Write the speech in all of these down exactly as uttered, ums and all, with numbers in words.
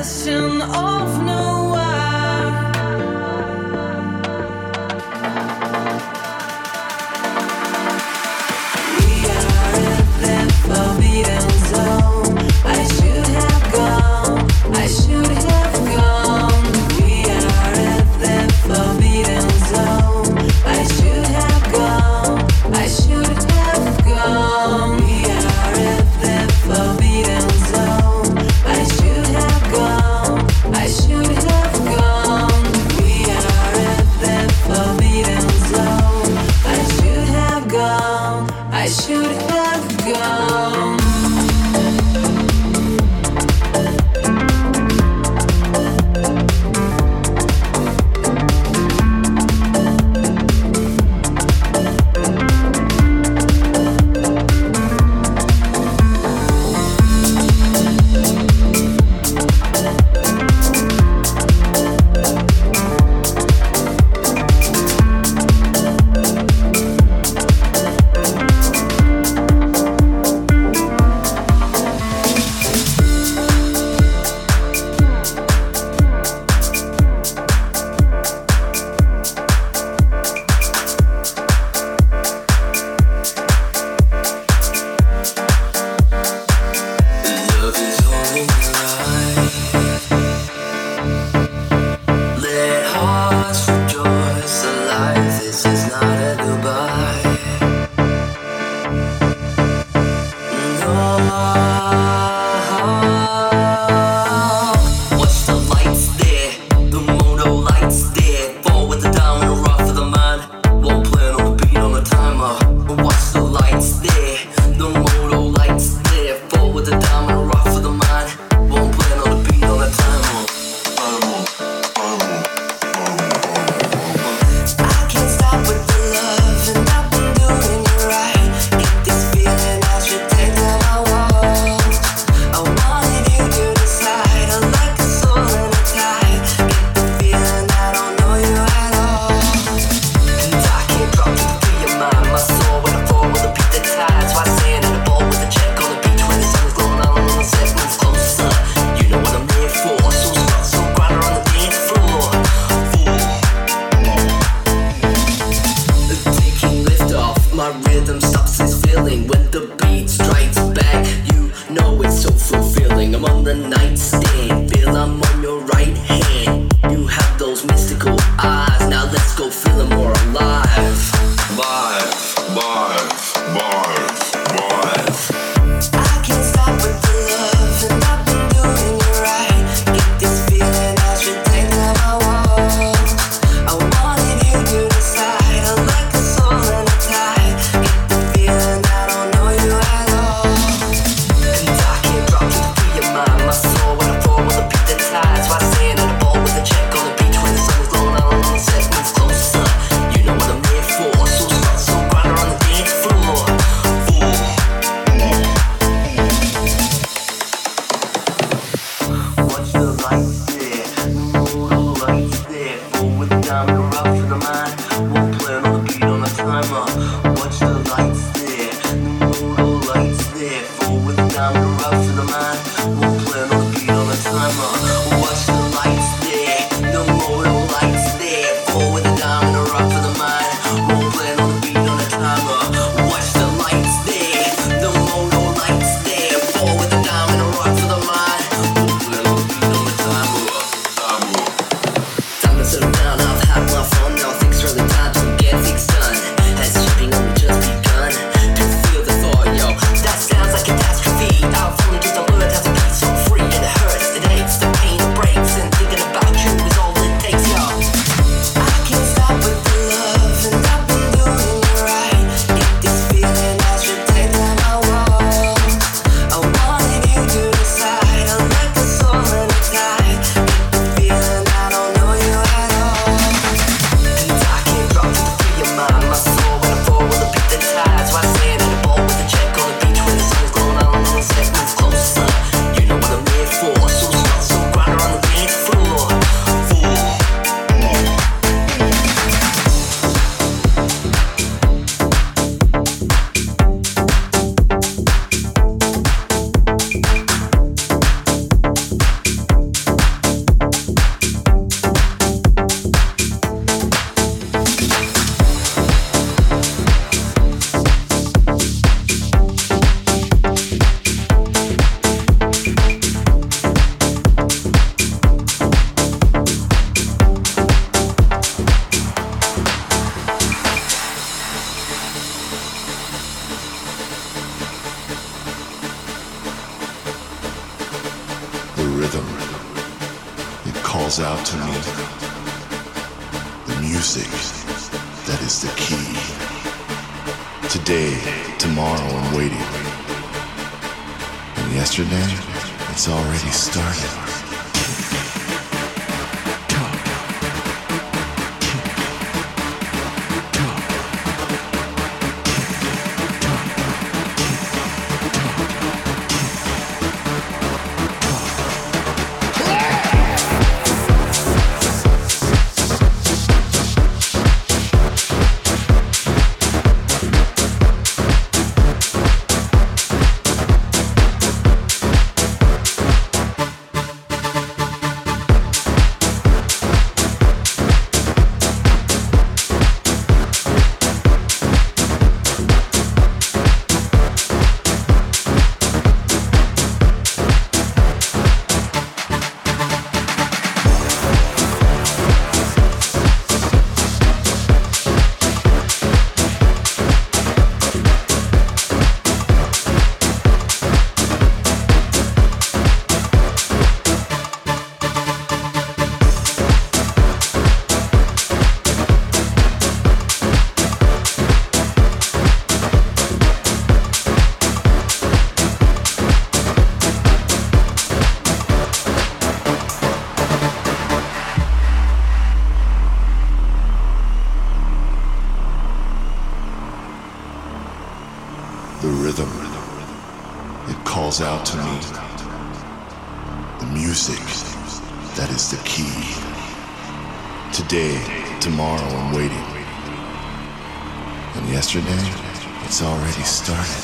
question of no why. We are in the forbidden zone. I should have gone, I should have gone. We are in the forbidden zone. I should have gone, I should have gone. We are in the forbidden zone. I should have gone, I should have gone. We are in the forbidden zone. I should have gone, I should have gone. Sounds like catastrophe. I've only just learned how to be so free, and it hurts. It aches the pain. rhythm, it calls out to me. The music, that is the key. Today, tomorrow, I'm waiting. And yesterday, it's already started. Out to me. The music, that is the key. Today, tomorrow, I'm waiting. And yesterday, it's already started.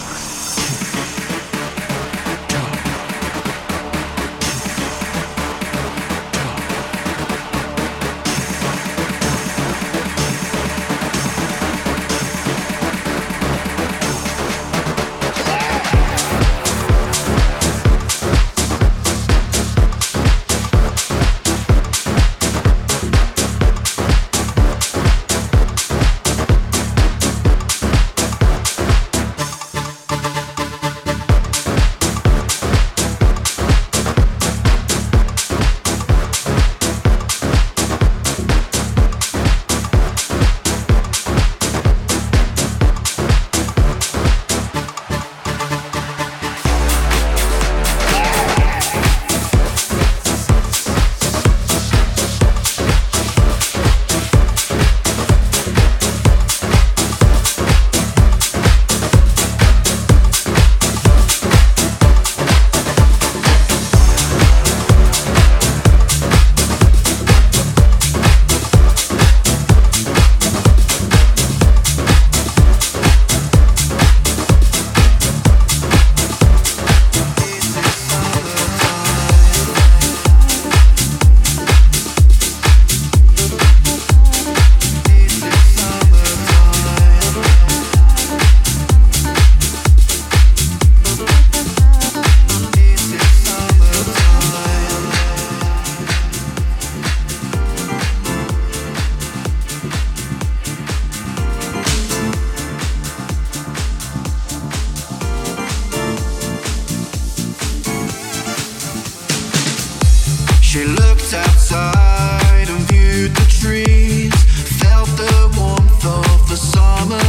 She looked outside and viewed the trees, felt the warmth of the summer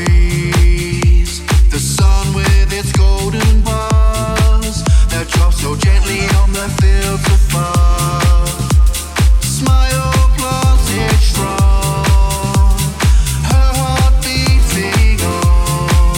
breeze. The sun with its golden bars that drops so gently on the fields above. Smile planted strong, her heart beating on.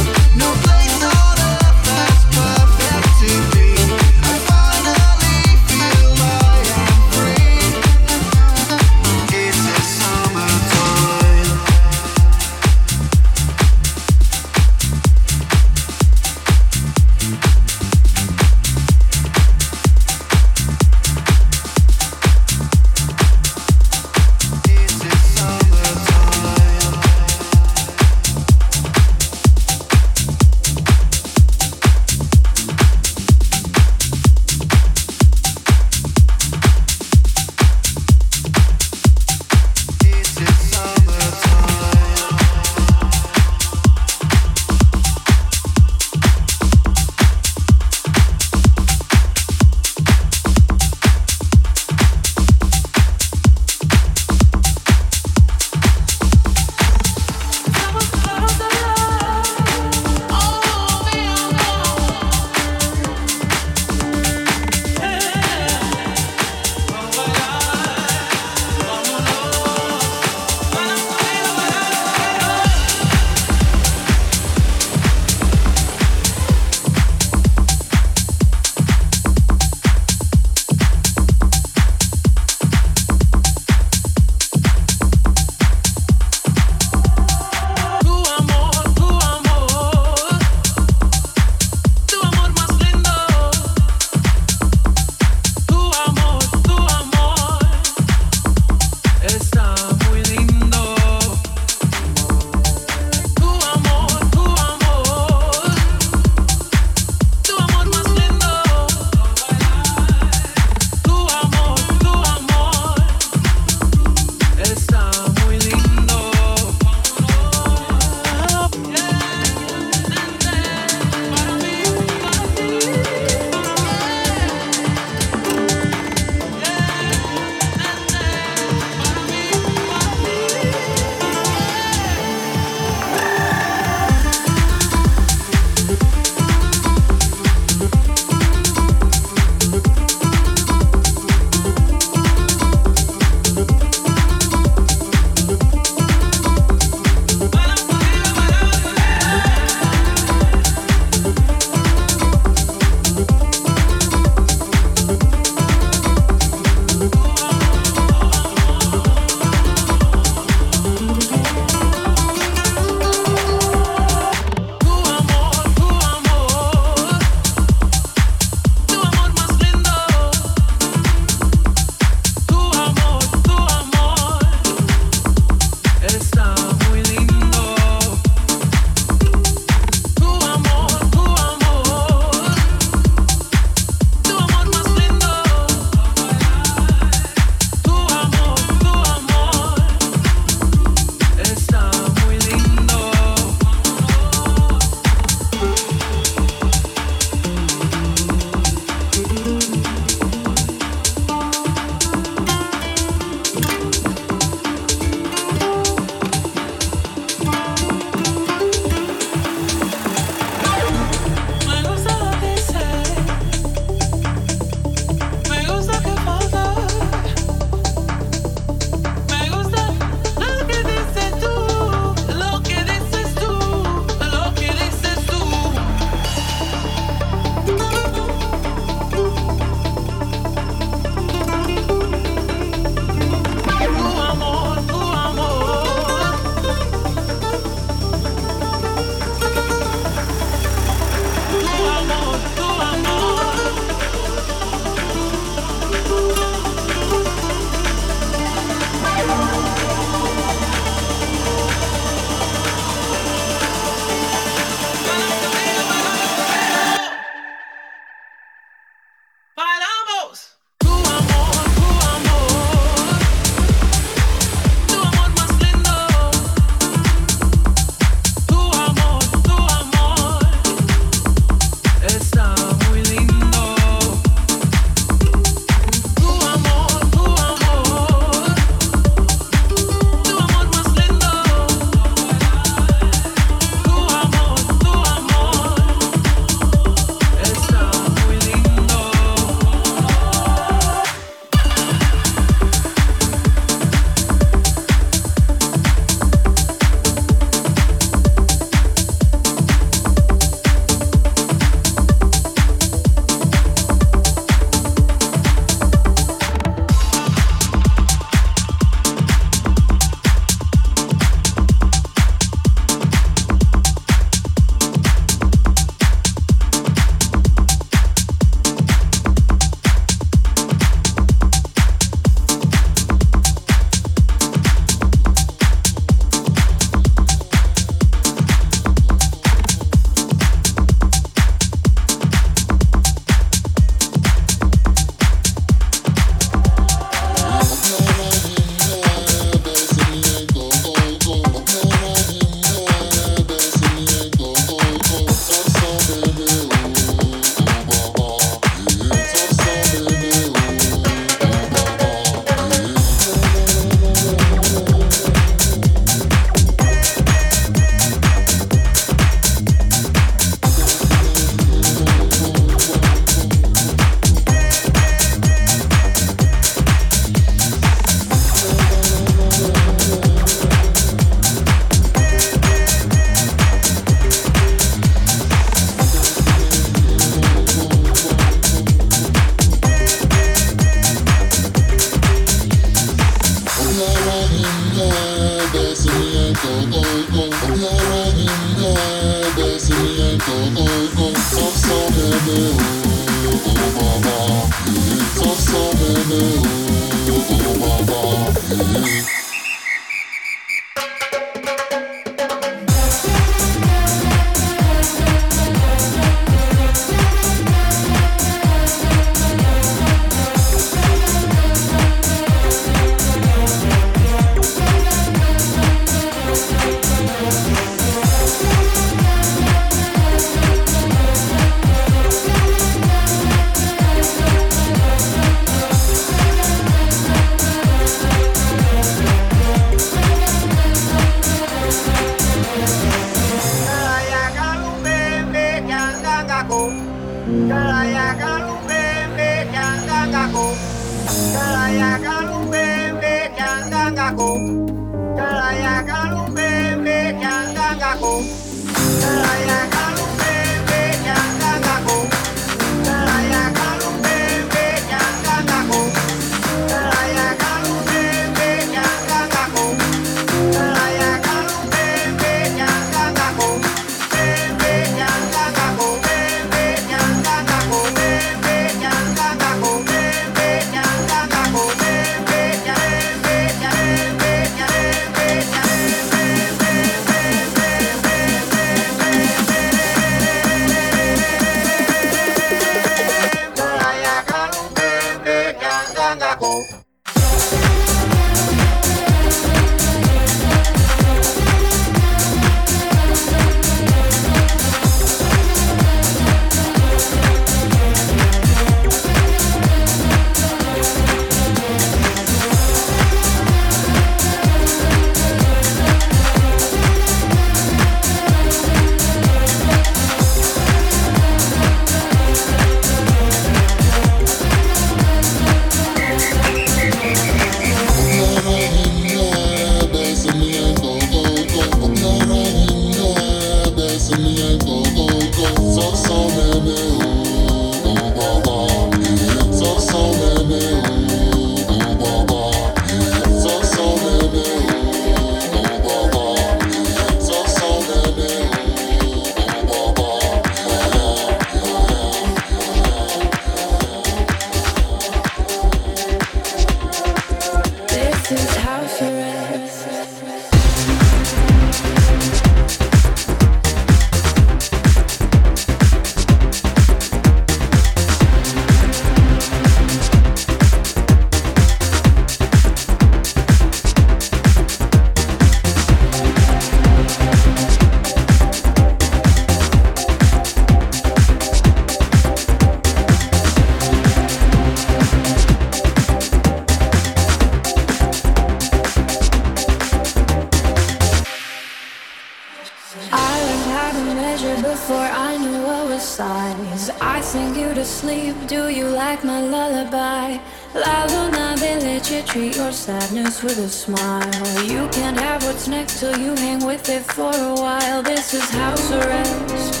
Sadness with a smile. You can't have what's next till you hang with it for a while. This is house arrest.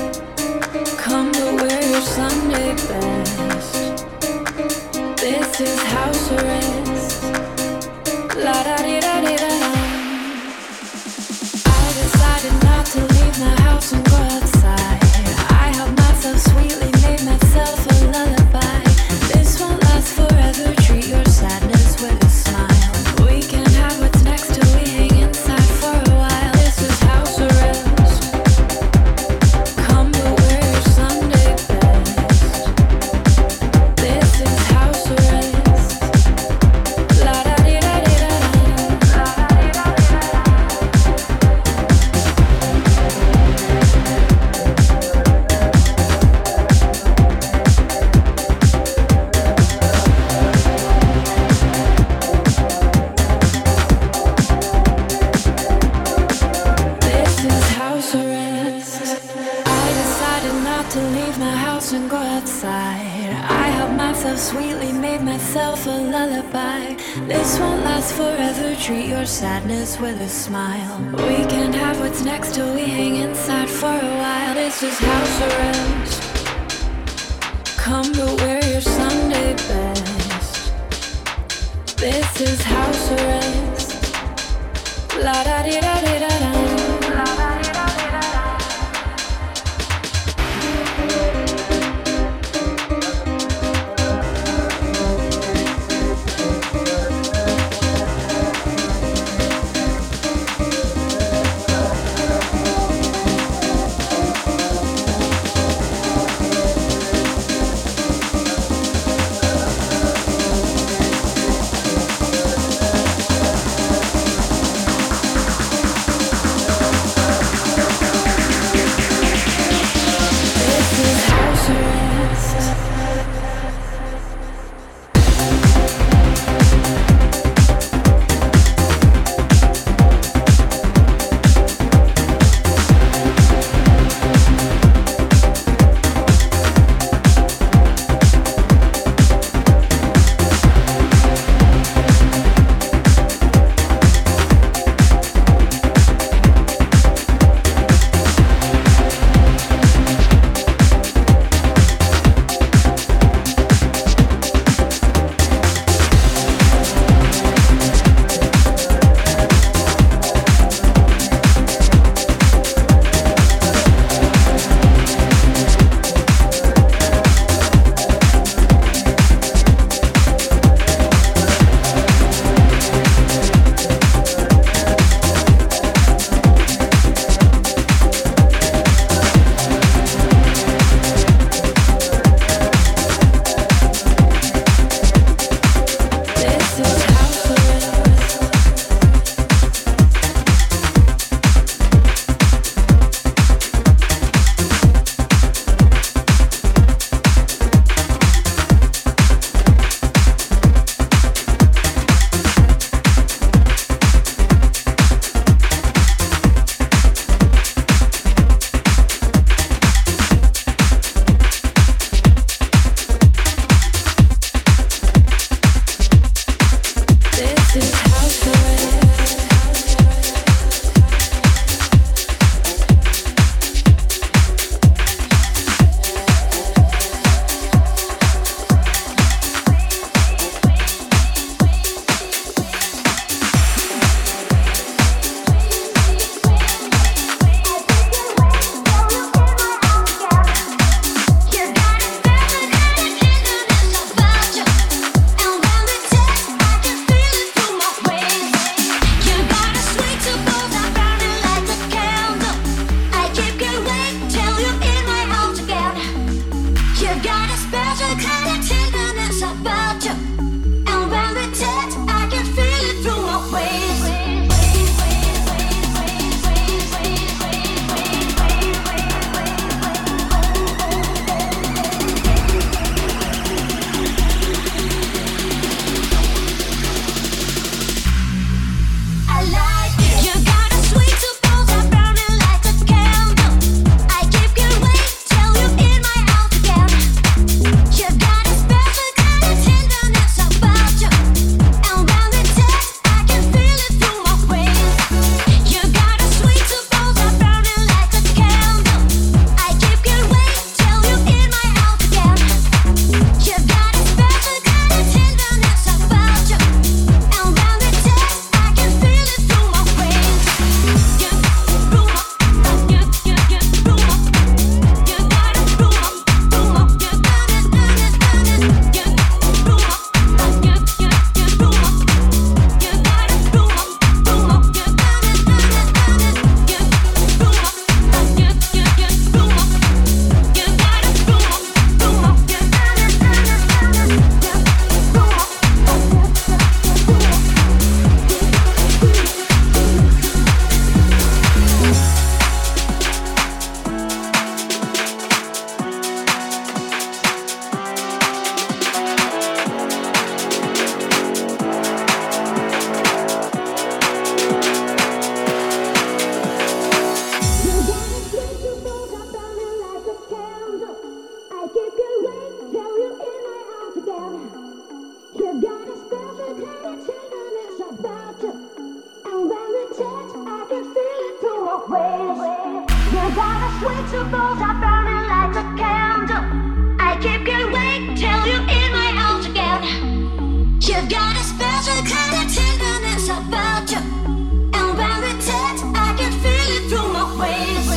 Come to wear your Sunday best. This is house arrest. La da di da di da da. I decided not to leave my house and go outside. I helped myself sweetly, made myself a lullaby. This won't last forever. Treat your sadness with a smile. We can have what's next till we hang inside for a while. This is house arrest. Come to wear your Sunday best. This is house arrest. La da di da di da da. La da di da di and go outside. I helped myself sweetly, made myself a lullaby. This won't last forever. Treat your sadness with a smile. We can't have what's next till we hang inside for a while. This is house arrest. Come to wear your Sunday best. This is house arrest. La da di da di. Symbols are burning like a candle. I keep getting awake till you're in my house again. You've got a special kind of tenderness about you, and when we touch, I can feel it through my waves.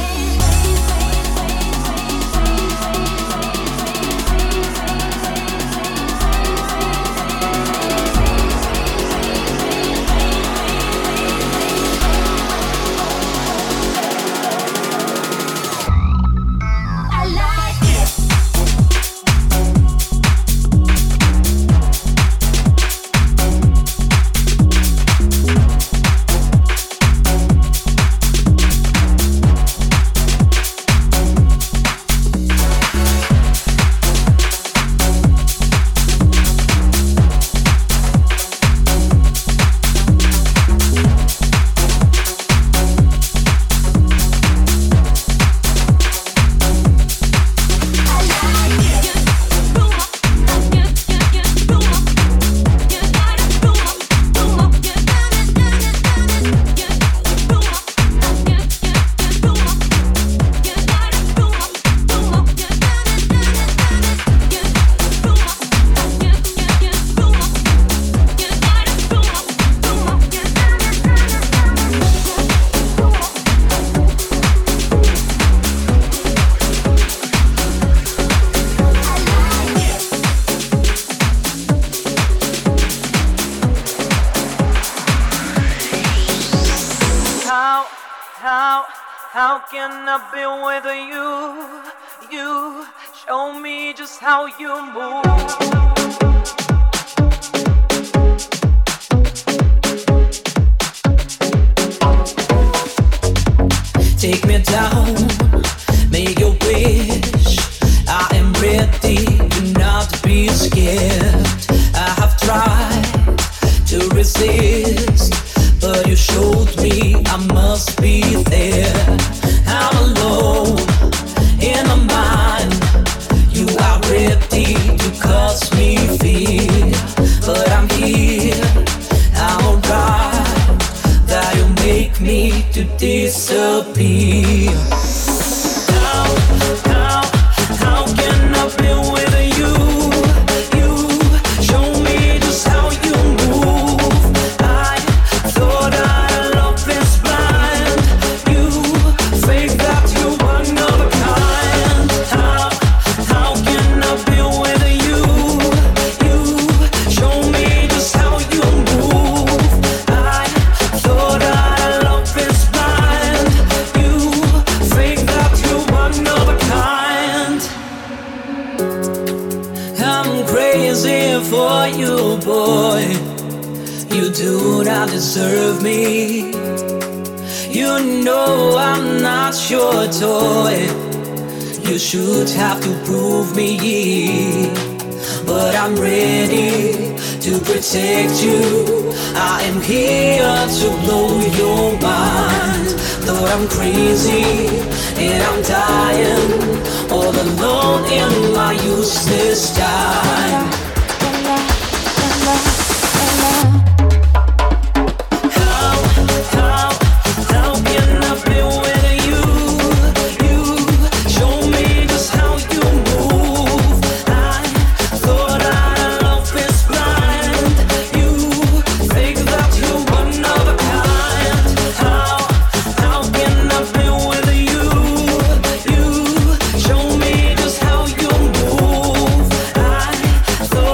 Thought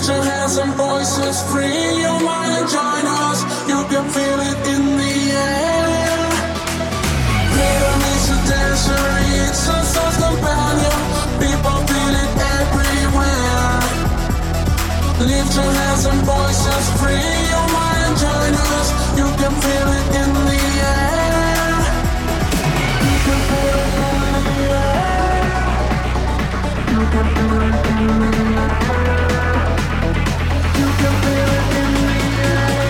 your hands and voices free your mind and join us. You can feel it in the air. Freedom is a dancer, it's a soul's companion. People feel it everywhere. Lift your hands and voices free your mind and join us. You can feel it in the air. You can feel it in the air. You can feel it in the air. You can feel it in the air.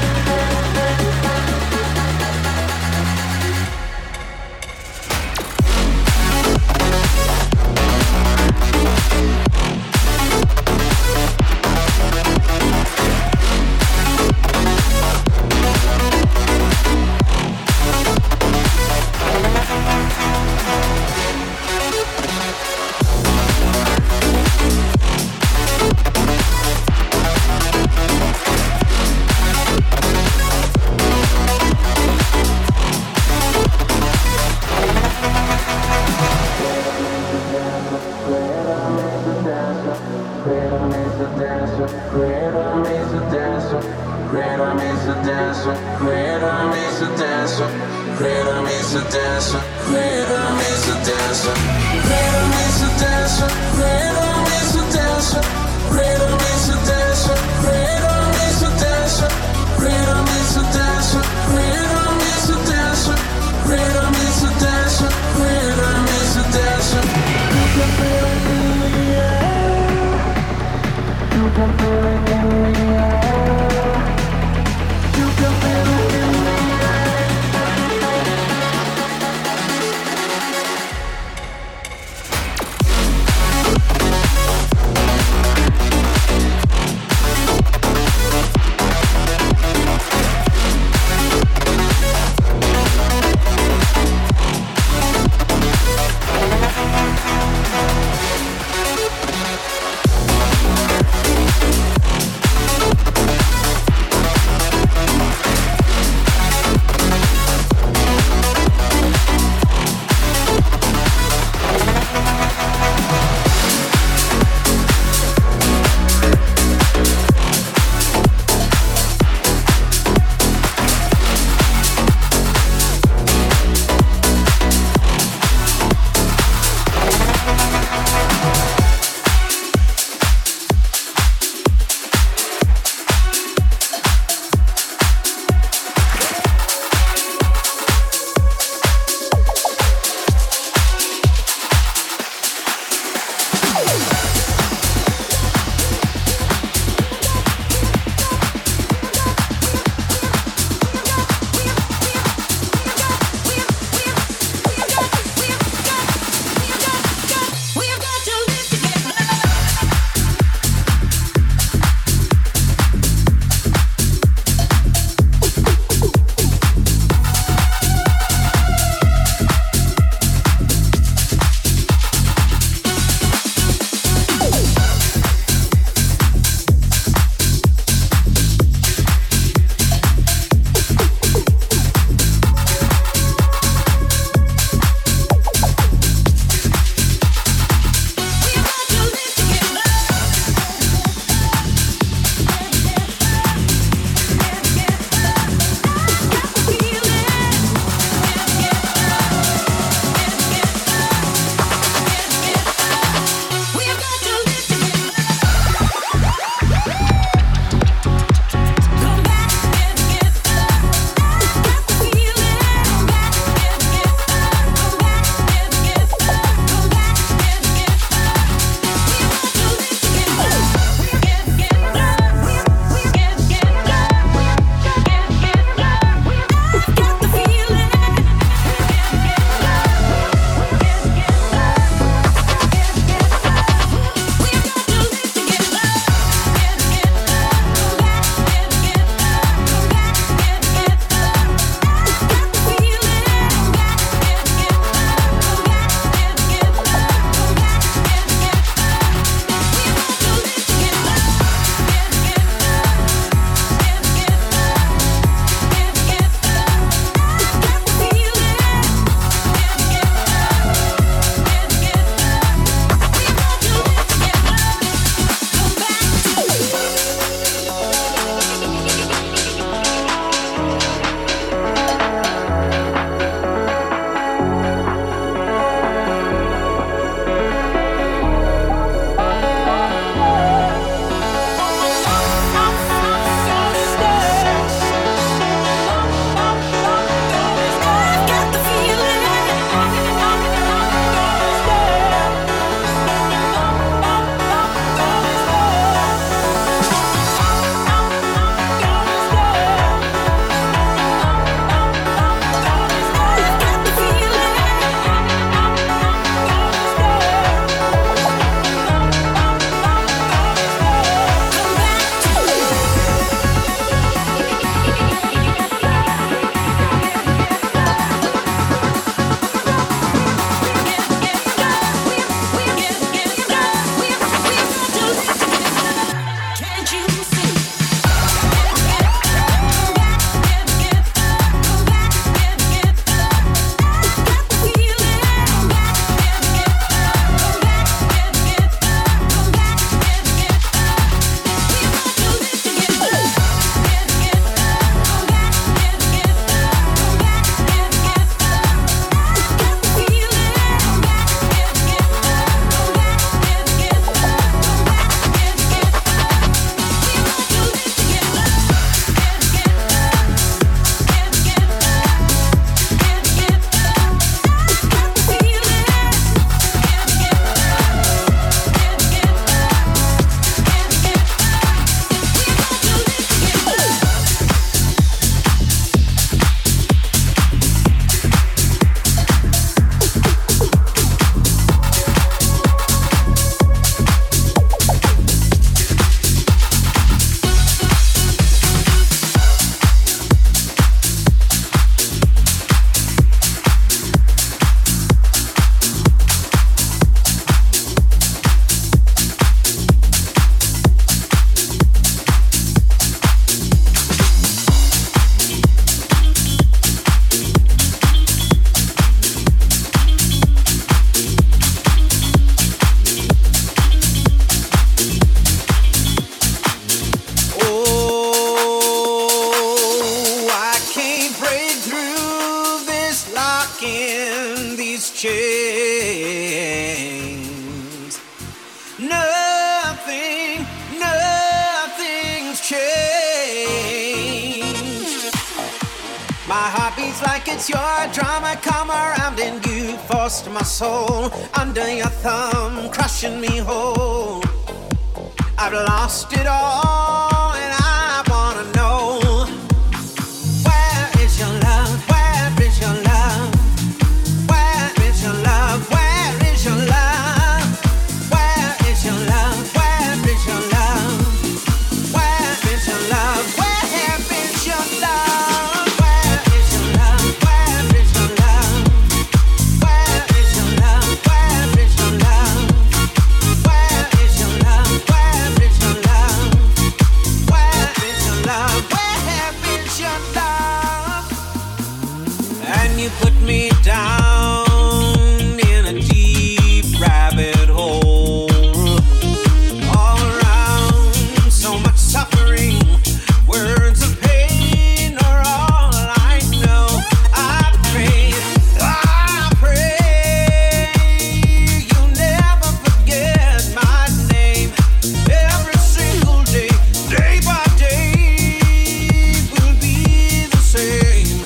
It's your drama come around and you forced my soul under your thumb, crushing me whole. I've lost it all and I wanna know, where is your love? Where is your love? Where is your love? Where is your love? Where is your love? Where is your love? Where is your love? Where is your love? Where is your love? Where is your love? Where is your love? Where is your love? Where is your love? Where is your love? Where is your love? Where is your love? And you put me down in a deep rabbit hole. All around, so much suffering. Words of pain are all I know. I pray, I pray you'll never forget my name. Every single day, day by day, will be the same.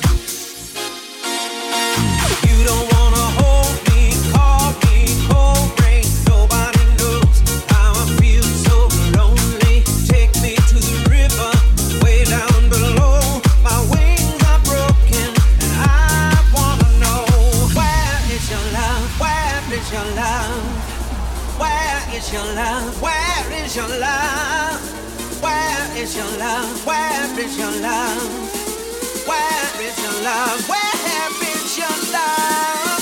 You don't wanna hold me, call me cold rain. Nobody knows how I feel so lonely. Take me to the river, way down below. My wings are broken, and I wanna know, where is your love? Where is your love? Where is your love? Where is your love? Where is your love? Where is your love? Where is your love? Where is your love?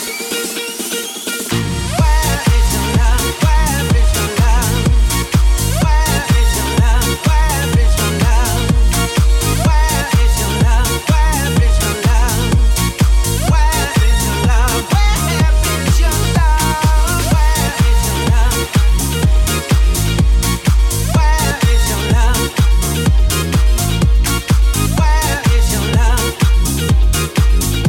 Where is your love? Where is your love? Where is your love? Where is your love? Where is your love? Where is your love? Where is your love? Where is your love? Where is your love? Where is your love? Where is your love?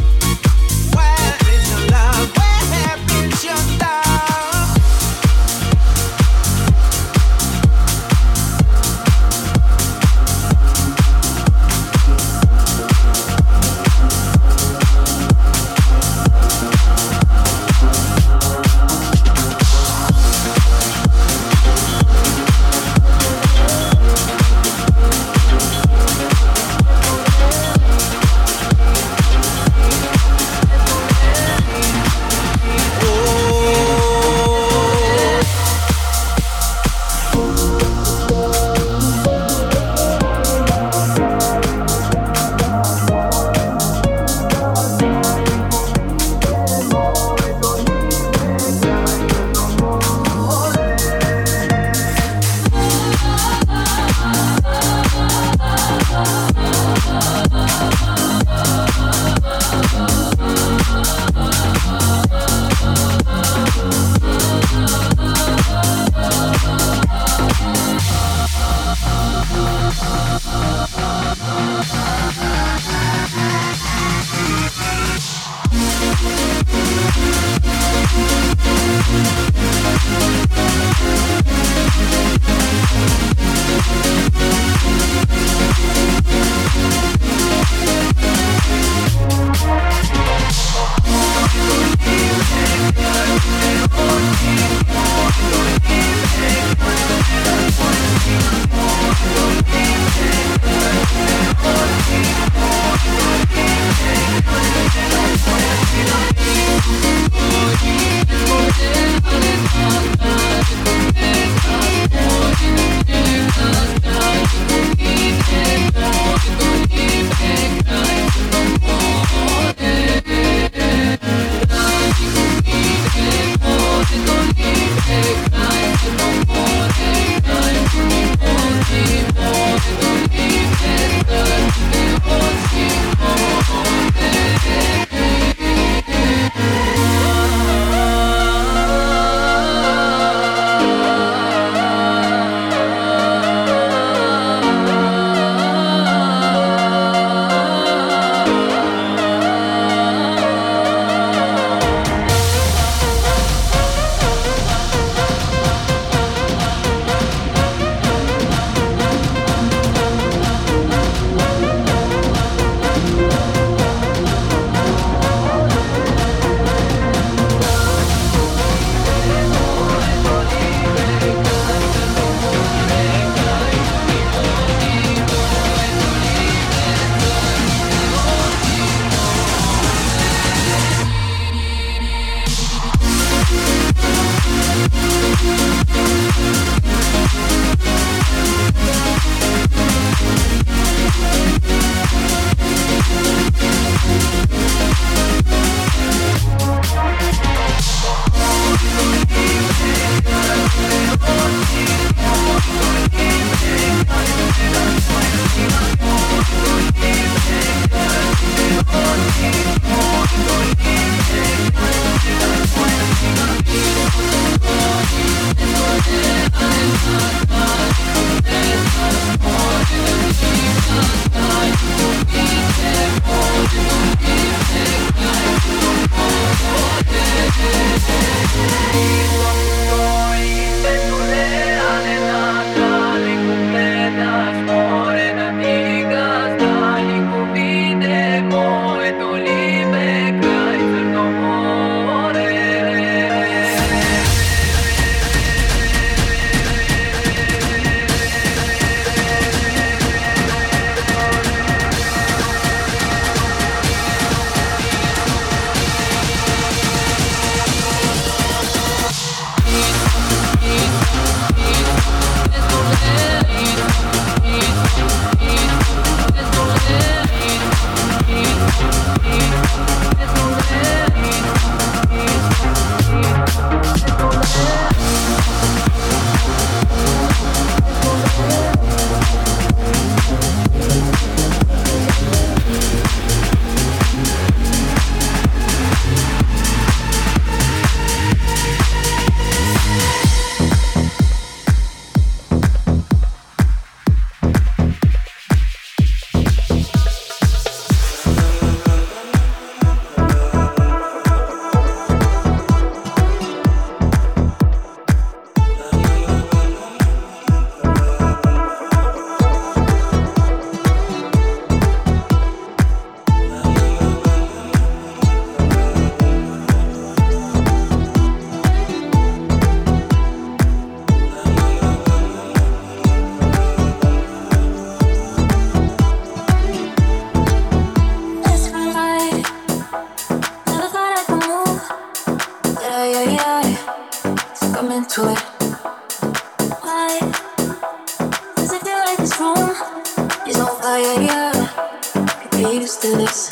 to this.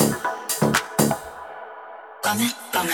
Dame, dame.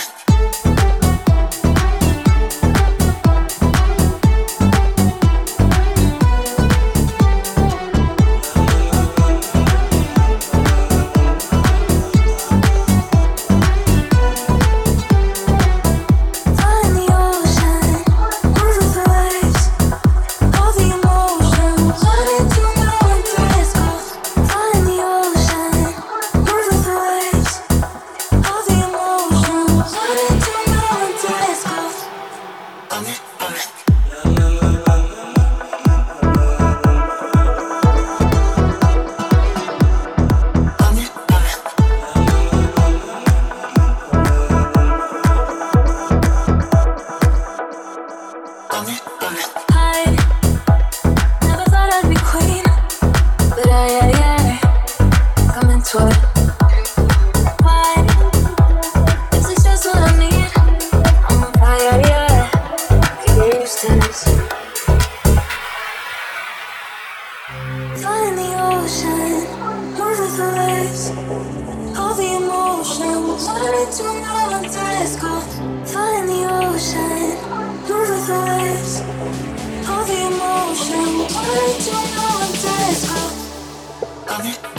All the emotion, why do you know I'm disco?